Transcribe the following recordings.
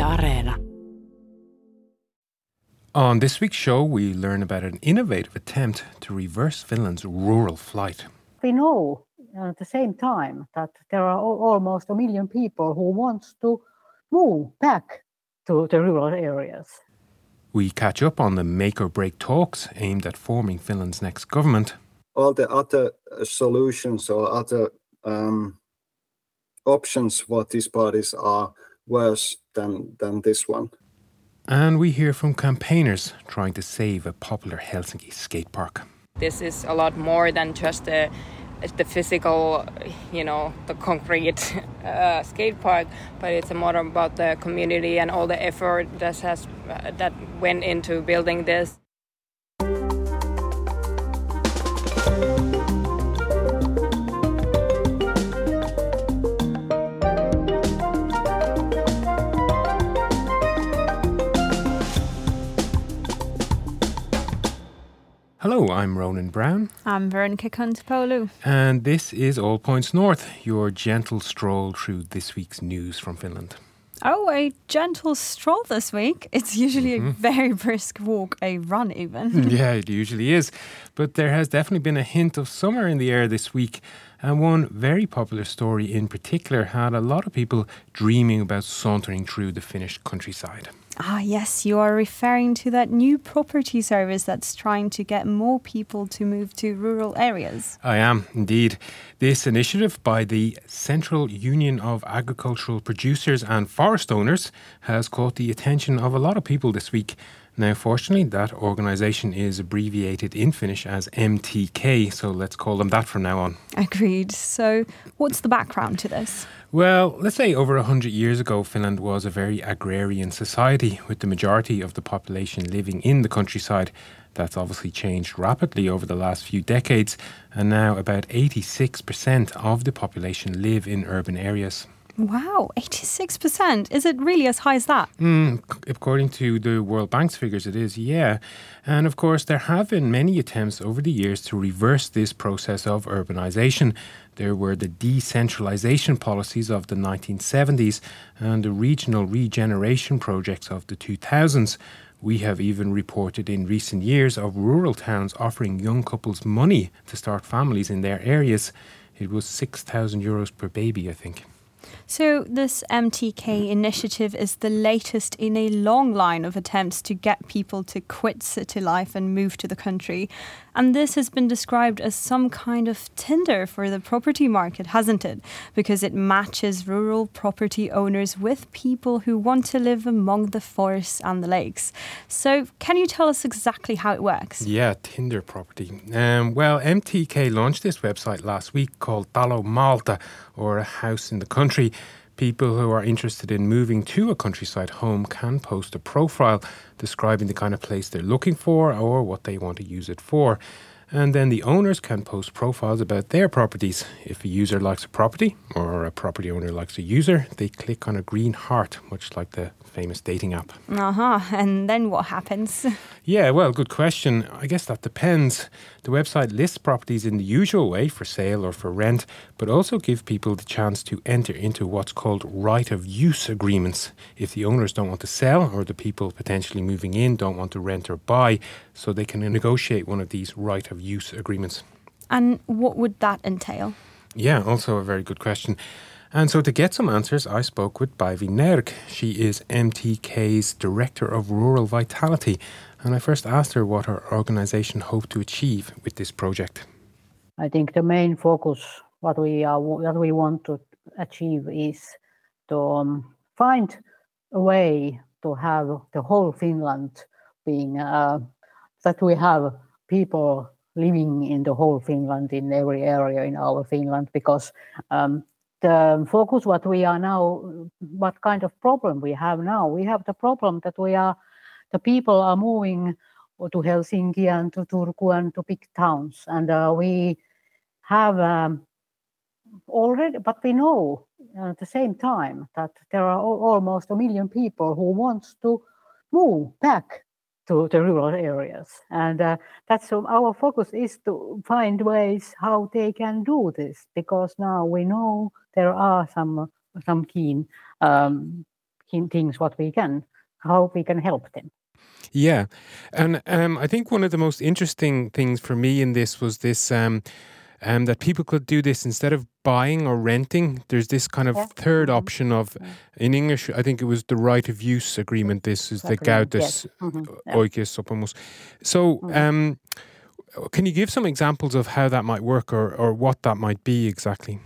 Areena. On this week's show, we learn about an innovative attempt to reverse Finland's rural flight. We know at the same time that there are almost 1 million people who want to move back to the rural areas. We catch up on the make-or-break talks aimed at forming Finland's next government. All the other solutions or other options for these parties are worse than this one. And we hear from campaigners trying to save a popular Helsinki skate park. This is a lot more than just the physical, the concrete skate park, but it's more about the community and all the effort that went into building this. Hello, I'm Ronan Brown. I'm Veronica Kontopoulou. And this is All Points North, your gentle stroll through this week's news from Finland. Oh, a gentle stroll this week. It's usually a very brisk walk, a run even. Yeah, it usually is. But there has definitely been a hint of summer in the air this week. And one very popular story in particular had a lot of people dreaming about sauntering through the Finnish countryside. Ah, yes, you are referring to that new property service that's trying to get more people to move to rural areas. I am, indeed. This initiative by the Central Union of Agricultural Producers and Forest Owners has caught the attention of a lot of people this week. Now, fortunately, that organisation is abbreviated in Finnish as MTK, so let's call them that from now on. Agreed. So, what's the background to this? Well, let's say over 100 years ago, Finland was a very agrarian society with the majority of the population living in the countryside. That's obviously changed rapidly over the last few decades, and now about 86% of the population live in urban areas. Wow, 86%. Is it really as high as that? According to the World Bank's figures, it is, yeah. And of course, there have been many attempts over the years to reverse this process of urbanization. There were the decentralization policies of the 1970s and the regional regeneration projects of the 2000s. We have even reported in recent years of rural towns offering young couples money to start families in their areas. It was €6,000 per baby, I think. So this MTK initiative is the latest in a long line of attempts to get people to quit city life and move to the country. And this has been described as some kind of Tinder for the property market, hasn't it? Because it matches rural property owners with people who want to live among the forests and the lakes. So can you tell us exactly how it works? Yeah, Tinder property. Well, MTK launched this website last week called Talo Maalta, or a house in the country. People who are interested in moving to a countryside home can post a profile describing the kind of place they're looking for or what they want to use it for. And then the owners can post profiles about their properties. If a user likes a property or a property owner likes a user, they click on a green heart, much like the famous dating app. And then what happens? Yeah, well, good question. I guess that depends. The website lists properties in the usual way for sale or for rent, but also give people the chance to enter into what's called right of use agreements if the owners don't want to sell or the people potentially moving in don't want to rent or buy, so they can negotiate one of these right of use agreements. And what would that entail? Yeah, also a very good question. And so to get some answers, I spoke with Päivi Nerg. She is MTK's Director of Rural Vitality. And I first asked her what her organisation hoped to achieve with this project. I think the main focus, what we want to achieve is to find a way to have the whole Finland being, that we have people living in the whole Finland, in every area in our Finland, because the focus what we are now, what kind of problem we have now, we have the problem that the people are moving to Helsinki and to Turku and to big towns, and we have already, but we know at the same time that there are almost 1 million people who want to move back to the rural areas, and that's our focus is to find ways how they can do this, because now we know there are some keen things how we can help them. Yeah, and I think one of the most interesting things for me in this was this that people could do this instead of buying or renting. There's this kind of third option of, in English, I think it was the right of use agreement. This is the Käytös oikeussopimus. So, can you give some examples of how that might work or what that might be exactly?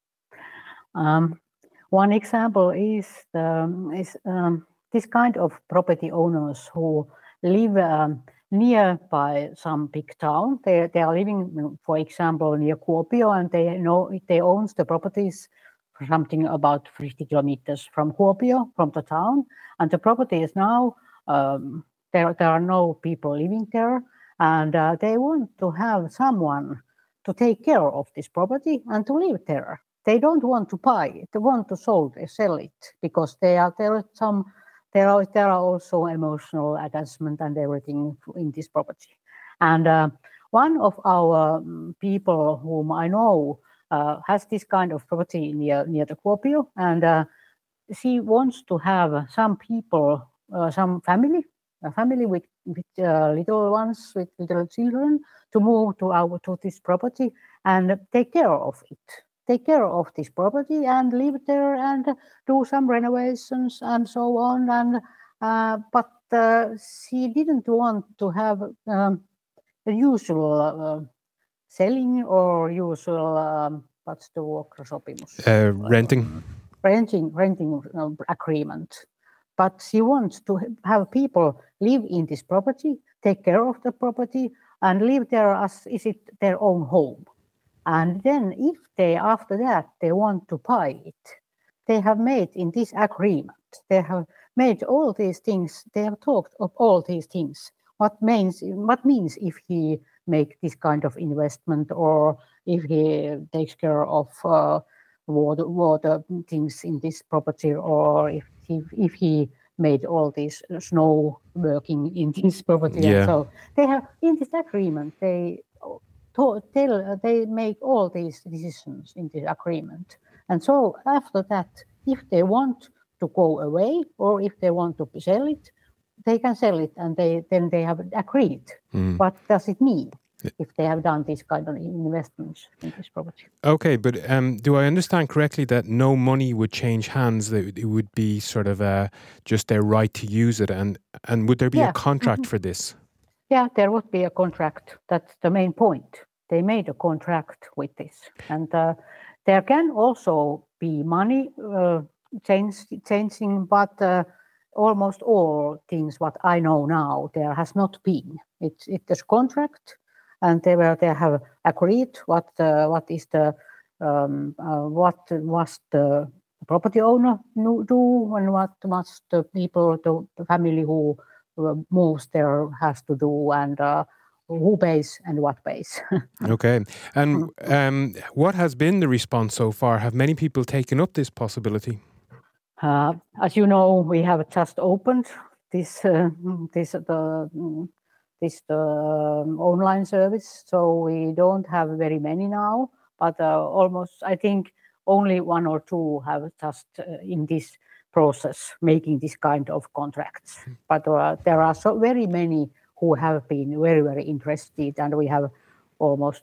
One example is this kind of property owners who live nearby some big town. They are living, for example, near Kuopio, and they own the properties for something about 50 kilometers from Kuopio, from the town. And the property is now there are no people living there, and they want to have someone to take care of this property and to live there. They don't want to buy it; they want to sell it because there are also emotional attachment and everything in this property. And one of our people whom I know has this kind of property near the Kuopio, and she wants to have some people, some family, a family with little ones, with little children, to move to this property and take care of it. Take care of this property and live there and do some renovations and so on. And but she didn't want to have the usual selling or usual what's the vuokrasopimus? Renting agreement. But she wants to have people live in this property, take care of the property, and live there as is it their own home. And then if after that they want to buy it, they have made in this agreement, they have made all these things, they have talked of all these things. What means if he make this kind of investment, or if he takes care of water things in this property, or if he made all this snow working in this property. Yeah. And so they have in this agreement, they make all these decisions in this agreement. And so after that, if they want to go away or if they want to sell it, they can sell it, and then they have agreed. What does it mean if they have done this kind of investments in this property? Okay, but do I understand correctly that no money would change hands, that it would be sort of just their right to use it, and would there be a contract for this? Yeah, there would be a contract. That's the main point. They made a contract with this. And there can also be money changing, but almost all things what I know now, there has not been. It's contract, and they have agreed what was the property owner do, and what must the people, the family who moves there has to do, and who pays and what pays. Okay. And what has been the response so far? Have many people taken up this possibility? As you know, we have just opened this online service, so we don't have very many now, but almost, I think, only one or two have just in this process making this kind of contracts. But there are so very many who have been very, very interested, and we have almost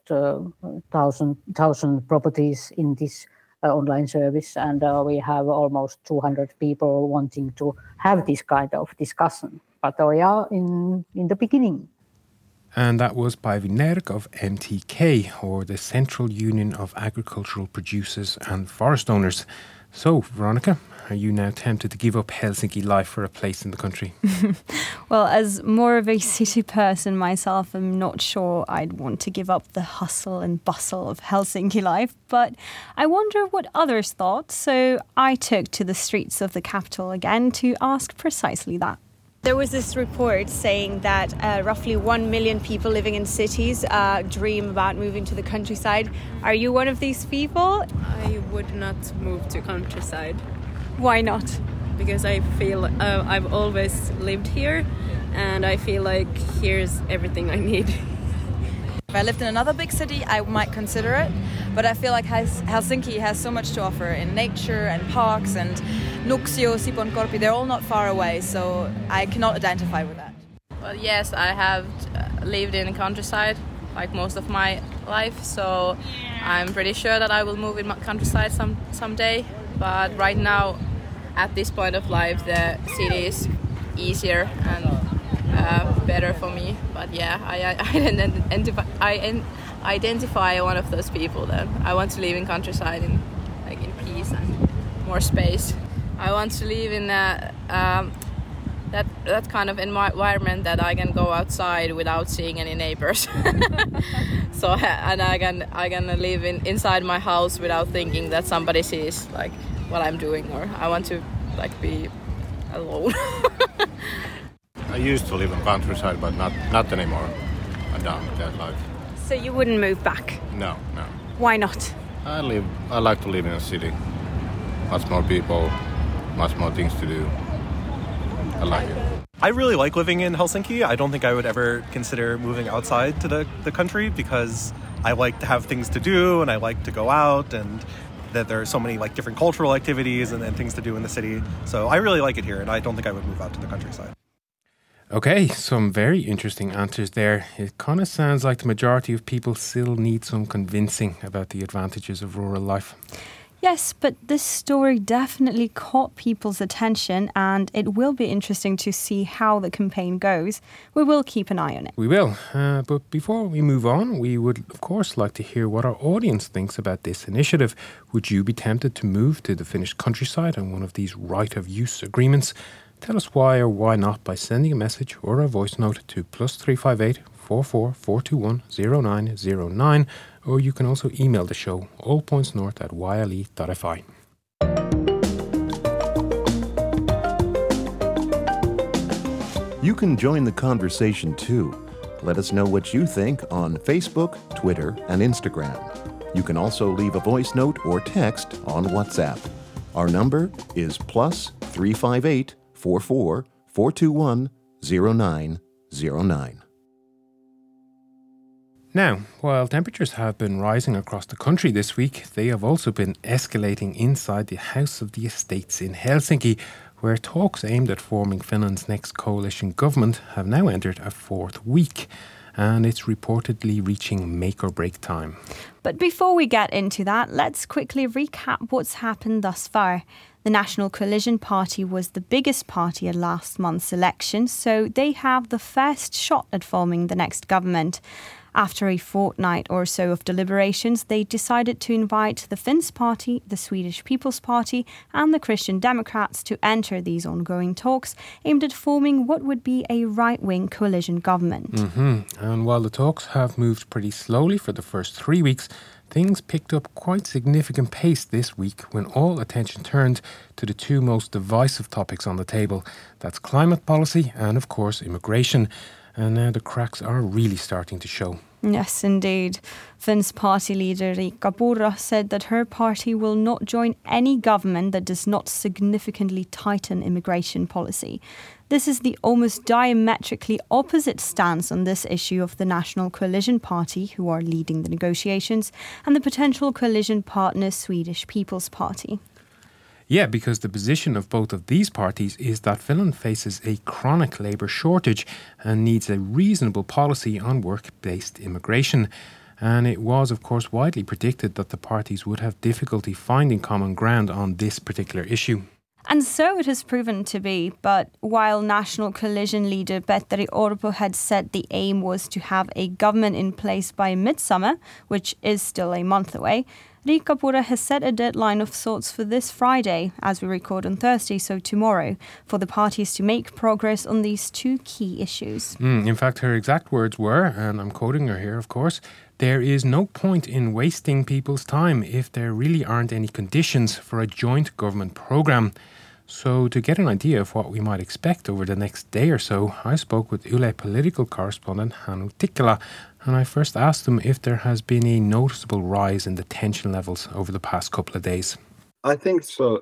1,000 properties in this online service, and we have almost 200 people wanting to have this kind of discussion. But we are in the beginning. And that was Päivi Nerg of MTK, or the Central Union of Agricultural Producers and Forest Owners. So, Veronica, are you now tempted to give up Helsinki life for a place in the country? Well, as more of a city person myself, I'm not sure I'd want to give up the hustle and bustle of Helsinki life, but I wonder what others thought, so I took to the streets of the capital again to ask precisely that. There was this report saying that roughly 1 million people living in cities dream about moving to the countryside. Are you one of these people? I would not move to countryside. Why not? Because I feel I've always lived here, and I feel like here's everything I need. If I lived in another big city, I might consider it, but I feel like Helsinki has so much to offer in nature and parks and Nuksio, Sipoonkorpi, they're all not far away, so I cannot identify with that. Well, yes, I have lived in the countryside like most of my life, so I'm pretty sure that I will move in countryside someday. But right now, at this point of life, the city is easier and better for me. But yeah, I identify one of those people that I want to live in countryside in peace and more space. I want to live in that kind of environment that I can go outside without seeing any neighbors. So and I can live inside my house without thinking that somebody sees like what I'm doing, or I want to like be alone. I used to live in countryside, but not anymore. I'm done with that life. So you wouldn't move back? No. Why not? I like to live in a city. Much more people, much more things to do. I like it. I really like living in Helsinki. I don't think I would ever consider moving outside to the country because I like to have things to do and I like to go out, and that there are so many like different cultural activities and things to do in the city. So I really like it here, and I don't think I would move out to the countryside. Okay, some very interesting answers there. It kind of sounds like the majority of people still need some convincing about the advantages of rural life. Yes, but this story definitely caught people's attention, and it will be interesting to see how the campaign goes. We will keep an eye on it. We will. But before we move on, we would, of course, like to hear what our audience thinks about this initiative. Would you be tempted to move to the Finnish countryside on one of these right-of-use agreements? Tell us why or why not by sending a message or a voice note to +358 44 421 0909, or you can also email the show allpointsnorth@yle.fi. You can join the conversation too. Let us know what you think on Facebook, Twitter, and Instagram. You can also leave a voice note or text on WhatsApp. Our number is +358 44 421 0909. Now, while temperatures have been rising across the country this week, they have also been escalating inside the House of the Estates in Helsinki, where talks aimed at forming Finland's next coalition government have now entered a fourth week, and it's reportedly reaching make-or-break time. But before we get into that, let's quickly recap what's happened thus far. The National Coalition Party was the biggest party at last month's election, so they have the first shot at forming the next government. After a fortnight or so of deliberations, they decided to invite the Finns Party, the Swedish People's Party, and the Christian Democrats to enter these ongoing talks aimed at forming what would be a right-wing coalition government. And while the talks have moved pretty slowly for the first 3 weeks, things picked up quite significant pace this week when all attention turned to the two most divisive topics on the table. That's climate policy and, of course, immigration. And now the cracks are really starting to show. Yes, indeed. Finns party leader Riikka Purra said that her party will not join any government that does not significantly tighten immigration policy. This is the almost diametrically opposite stance on this issue of the National Coalition Party, who are leading the negotiations, and the potential coalition partner Swedish People's Party. Yeah, because the position of both of these parties is that Finland faces a chronic labour shortage and needs a reasonable policy on work-based immigration. And it was, of course, widely predicted that the parties would have difficulty finding common ground on this particular issue. And so it has proven to be, but while National Coalition leader Petteri Orpo had said the aim was to have a government in place by midsummer, which is still a month away, Riikka Purra has set a deadline of sorts for this Friday, as we record on Thursday, so tomorrow, for the parties to make progress on these two key issues. In fact, her exact words were, and I'm quoting her here, of course, "There is no point in wasting people's time if there really aren't any conditions for a joint government programme." So to get an idea of what we might expect over the next day or so, I spoke with Yle political correspondent Hannu Tikkala, and I first asked him if there has been a noticeable rise in the tension levels over the past couple of days. I think so,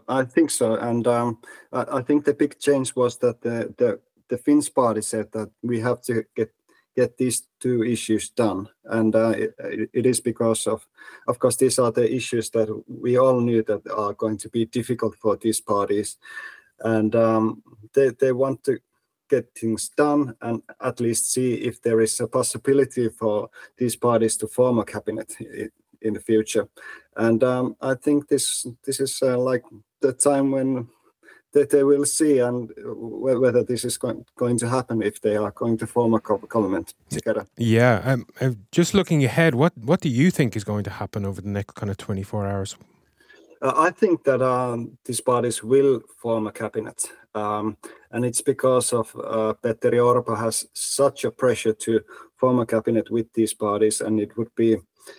and I think the big change was that the Finns party said that we have to get these two issues done. And it is because of course, these are the issues that we all knew that are going to be difficult for these parties. And they want to get things done and at least see if there is a possibility for these parties to form a cabinet in the future. And I think this is like the time when they will see and whether this is going to happen, if they are going to form a government together. Yeah, just looking ahead, what do you think is going to happen over the next kind of 24 hours? I think that these parties will form a cabinet, and it's because of Petteri Orpo has such a pressure to form a cabinet with these parties, and it would be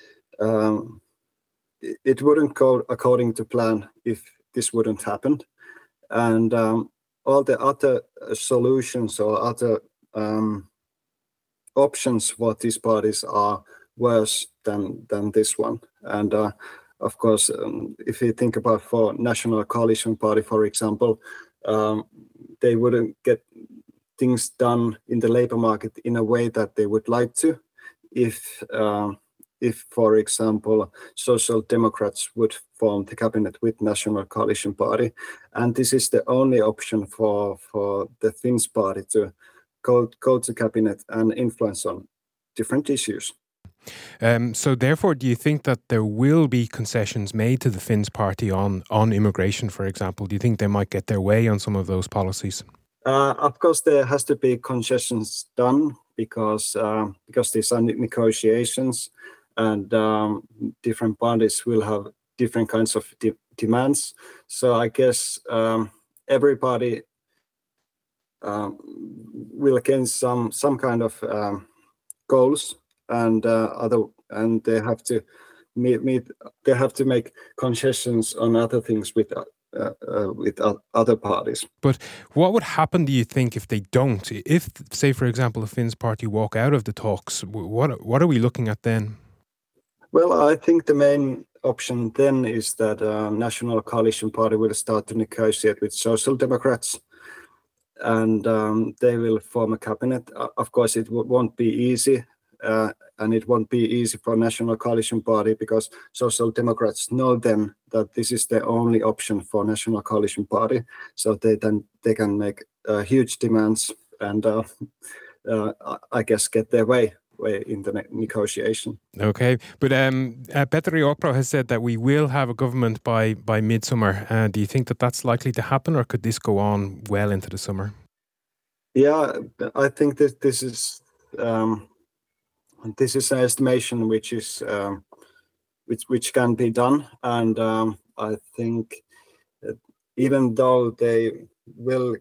it wouldn't go according to plan if this wouldn't happen. And all the other solutions or other options for these parties are worse than this one. And of course, if you think about for National Coalition Party, for example, they wouldn't get things done in the labor market in a way that they would like to if, for example, Social Democrats would form the cabinet with National Coalition Party. And this is the only option for the Finns party to go to cabinet and influence on different issues. So therefore, do you think that there will be concessions made to the Finns party on immigration, for example? Do you think they might get their way on some of those policies? Of course, there has to be concessions done because these are negotiations, and different parties will have different kinds of demands. So I guess everybody will gain some kind of goals, and they have to meet. They have to make concessions on other things with other parties. But what would happen, do you think, if they don't? If, say, for example, the Finns party walk out of the talks, what are we looking at then? Well, I think the main option then is that National Coalition Party will start to negotiate with Social Democrats, and they will form a cabinet. Of course, it won't be easy, and it won't be easy for National Coalition Party because Social Democrats know then that this is the only option for National Coalition Party. So they can make huge demands and I guess get their way in the negotiation. Okay, but Petteri Orpo has said that we will have a government by midsummer. Do you think that that's likely to happen, or could this go on well into the summer? Yeah, I think that this is an estimation which is which can be done, and I think that even though they will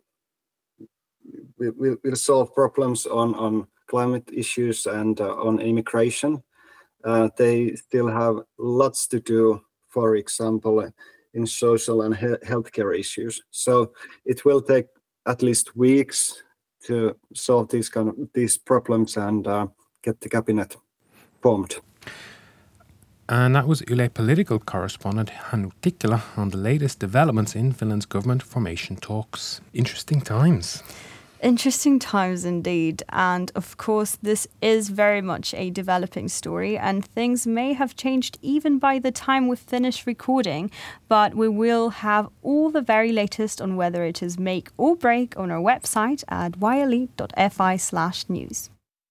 solve problems on climate issues and on immigration, they still have lots to do, for example, in social and healthcare issues. So it will take at least weeks to solve these problems and get the cabinet formed. And that was Yle political correspondent Hannu Tikkila on the latest developments in Finland's government formation talks. Interesting times. Interesting times indeed. And of course, this is very much a developing story, and things may have changed even by the time we've finished recording. But we will have all the very latest on whether it is make or break on our website at yle.fi/news.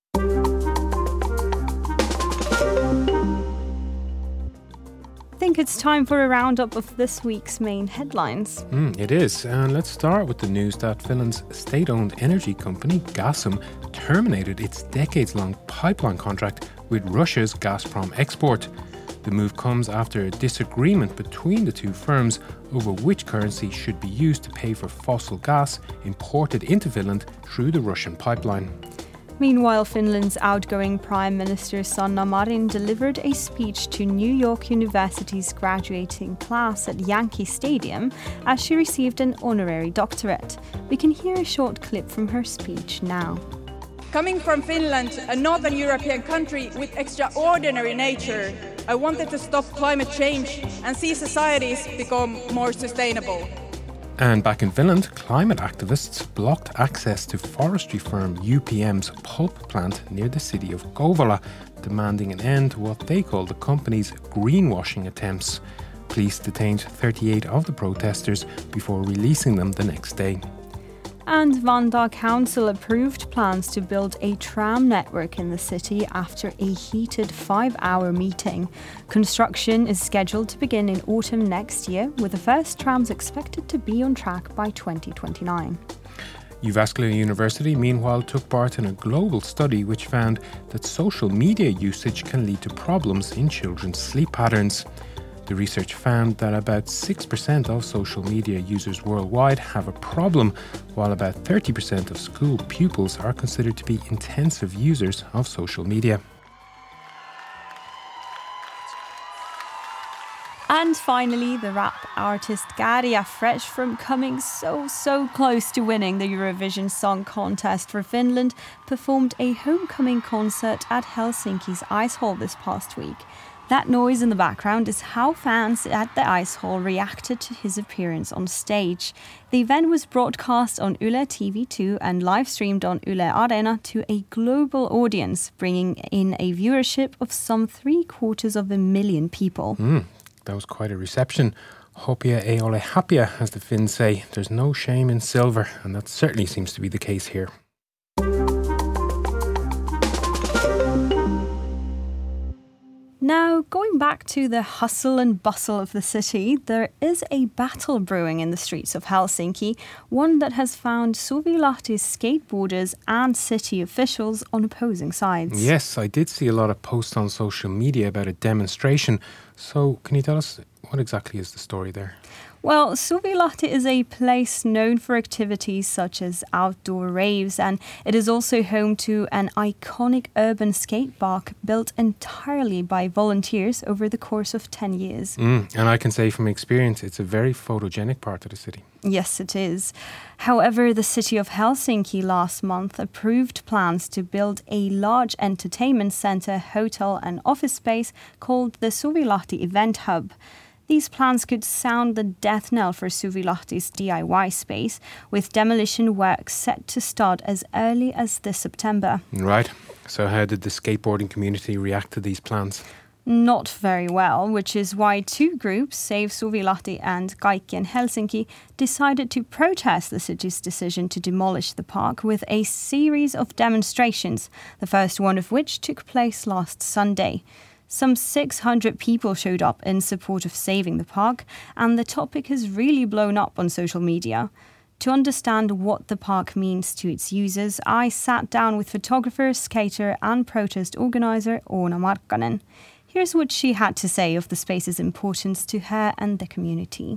I think it's time for a roundup of this week's main headlines. It is, and let's start with the news that Finland's state-owned energy company Gasum terminated its decades-long pipeline contract with Russia's Gazprom Export. The move comes after a disagreement between the two firms over which currency should be used to pay for fossil gas imported into Finland through the Russian pipeline. Meanwhile, Finland's outgoing Prime Minister Sanna Marin delivered a speech to New York University's graduating class at Yankee Stadium as she received an honorary doctorate. We can hear a short clip from her speech now. Coming from Finland, a northern European country with extraordinary nature, I wanted to stop climate change and see societies become more sustainable. And back in Finland, climate activists blocked access to forestry firm UPM's pulp plant near the city of Kouvola, demanding an end to what they call the company's greenwashing attempts. Police detained 38 of the protesters before releasing them the next day. And Vantaa Council approved plans to build a tram network in the city after a heated 5-hour meeting. Construction is scheduled to begin in autumn next year, with the first trams expected to be on track by 2029. Jyväskylä University, meanwhile, took part in a global study which found that social media usage can lead to problems in children's sleep patterns. The research found that about 6% of social media users worldwide have a problem, while about 30% of school pupils are considered to be intensive users of social media. And finally, the rap artist Käärijä, fresh from coming so close to winning the Eurovision Song Contest for Finland, performed a homecoming concert at Helsinki's Ice Hall this past week. That noise in the background is how fans at the Ice Hall reacted to his appearance on stage. The event was broadcast on Yle TV2 and live-streamed on Yle Areena to a global audience, bringing in a viewership of some 750,000 people. That was quite a reception. Hopia ei ole hapia, as the Finns say. There's no shame in silver, and that certainly seems to be the case here. Now, going back to the hustle and bustle of the city, there is a battle brewing in the streets of Helsinki, one that has found Suvilahti's skateboarders and city officials on opposing sides. Yes, I did see a lot of posts on social media about a demonstration. So, can you tell us what exactly is the story there? Well, Suvilahti is a place known for activities such as outdoor raves, and it is also home to an iconic urban skate park built entirely by volunteers over the course of 10 years. And I can say from experience, it's a very photogenic part of the city. Yes, it is. However, the city of Helsinki last month approved plans to build a large entertainment centre, hotel and office space called the Suvilahti Event Hub. These plans could sound the death knell for Suvilahti's DIY space, with demolition work set to start as early as this September. Right. So how did the skateboarding community react to these plans? Not very well, which is why two groups, Save Suvilahti and Kaikkien Helsinki, decided to protest the city's decision to demolish the park with a series of demonstrations, the first one of which took place last Sunday. Some 600 people showed up in support of saving the park, and the topic has really blown up on social media. To understand what the park means to its users, I sat down with photographer, skater and protest organiser Oona Markkanen. Here's what she had to say of the space's importance to her and the community.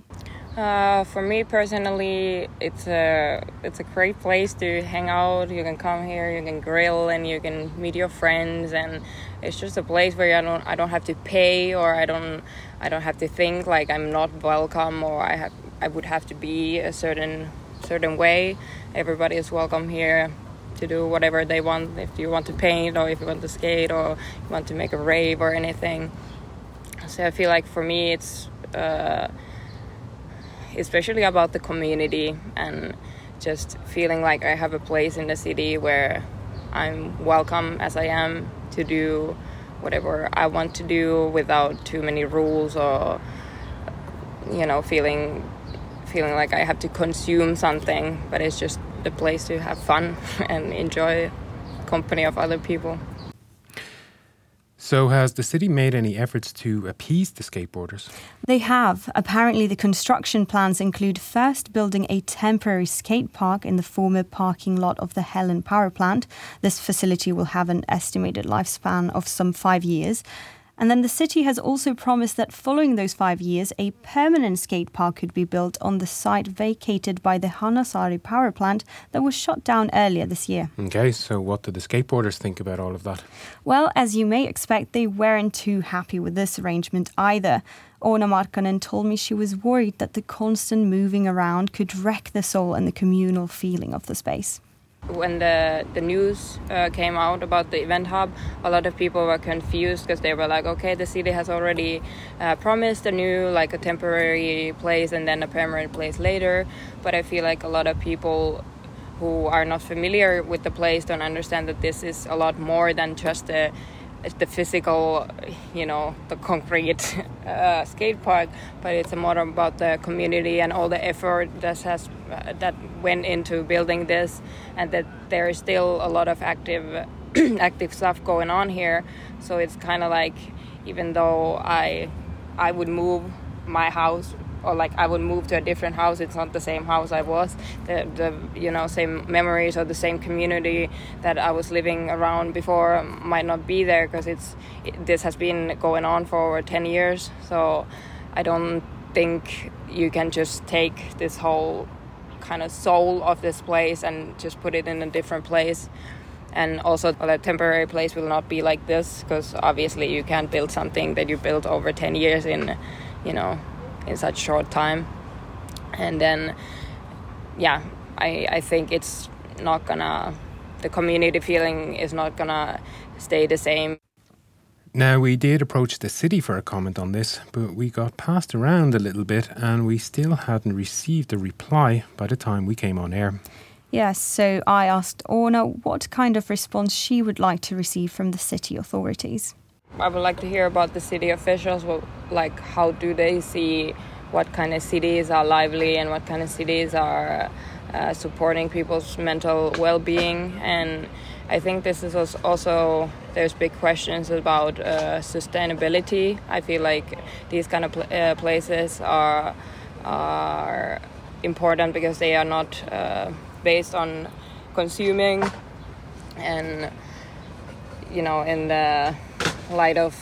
For me personally, it's a great place to hang out. You can come here, you can grill, and you can meet your friends. And it's just a place where I don't have to pay, or I don't have to think like I'm not welcome, or I would have to be a certain way. Everybody is welcome here to do whatever they want. If you want to paint, or if you want to skate, or you want to make a rave or anything. So I feel like for me it's especially about the community and just feeling like I have a place in the city where I'm welcome as I am to do whatever I want to do without too many rules, or feeling like I have to consume something, but it's just the place to have fun and enjoy company of other people. So has the city made any efforts to appease the skateboarders? They have. Apparently the construction plans include first building a temporary skate park in the former parking lot of the Helen power plant. This facility will have an estimated lifespan of some 5 years. And then the city has also promised that following those 5 years, a permanent skate park could be built on the site vacated by the Hanasaari power plant that was shut down earlier this year. Okay, so what did the skateboarders think about all of that? Well, as you may expect, they weren't too happy with this arrangement either. Oona Markkanen told me she was worried that the constant moving around could wreck the soul and the communal feeling of the space. When the news came out about the event hub, a lot of people were confused because they were like, okay, the city has already promised a new, like a temporary place and then a permanent place later. But I feel like a lot of people who are not familiar with the place don't understand that this is a lot more than just the physical, the concrete skate park, but it's more about the community and all the effort that went into building this, and that there is still a lot of active stuff going on here. So it's kind of like, even though I would move my house, or like I would move to a different house, it's not the same house I was. The same memories or the same community that I was living around before might not be there, because this has been going on for over 10 years. So I don't think you can just take this whole kind of soul of this place and just put it in a different place. And also a temporary place will not be like this, because obviously you can't build something that you built over 10 years in such short time. And then I think it's not gonna, the community feeling is not gonna stay the same. Now, we did approach the city for a comment on this, but we got passed around a little bit and we still hadn't received a reply by the time we came on air. Yes, so I asked Orna what kind of response she would like to receive from the city authorities. I would like to hear about the city officials, like how do they see what kind of cities are lively and what kind of cities are supporting people's mental well-being. And I think this is also, there's big questions about sustainability. I feel like these kind of places are important because they are not based on consuming, and in the light of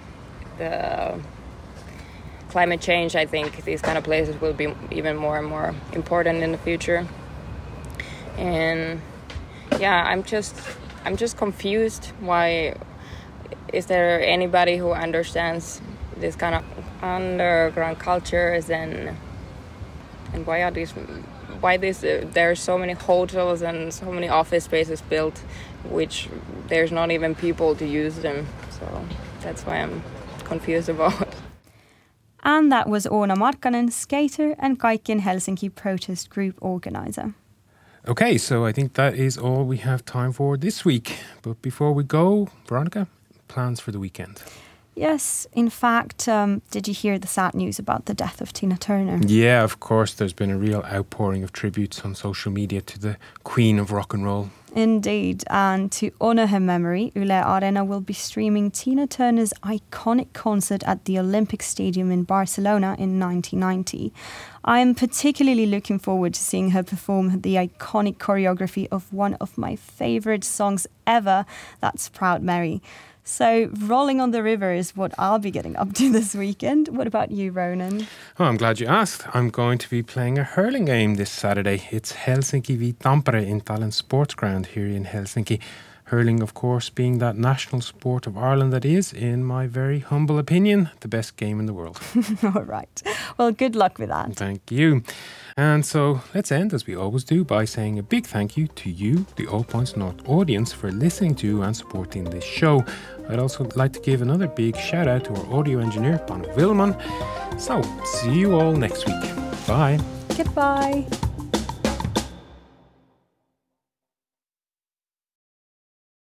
the climate change, I think these kind of places will be even more and more important in the future. And I'm just confused. Why is there anybody who understands this kind of underground cultures, and why there are so many hotels and so many office spaces built, which there's not even people to use them. So that's why I'm confused about. And that was Orna Markkanen, skater and Kaikkien Helsinki protest group organizer. Okay, so I think that is all we have time for this week. But before we go, Veronica, plans for the weekend? Yes, in fact, did you hear the sad news about the death of Tina Turner? Yeah, of course, there's been a real outpouring of tributes on social media to the Queen of Rock and Roll. Indeed, and to honour her memory, Yle Arena will be streaming Tina Turner's iconic concert at the Olympic Stadium in Barcelona in 1990. I am particularly looking forward to seeing her perform the iconic choreography of one of my favourite songs ever, that's Proud Mary. So rolling on the river is what I'll be getting up to this weekend. What about you, Ronan? Oh, I'm glad you asked. I'm going to be playing a hurling game this Saturday. It's Helsinki v Tampere in Tallinn Sports Ground here in Helsinki. Hurling, of course, being that national sport of Ireland that is, in my very humble opinion, the best game in the world. All right. Well, good luck with that. Thank you. And so let's end, as we always do, by saying a big thank you to you, the All Points North audience, for listening to and supporting this show. I'd also like to give another big shout out to our audio engineer, Panu Vilman. So, see you all next week. Bye. Goodbye.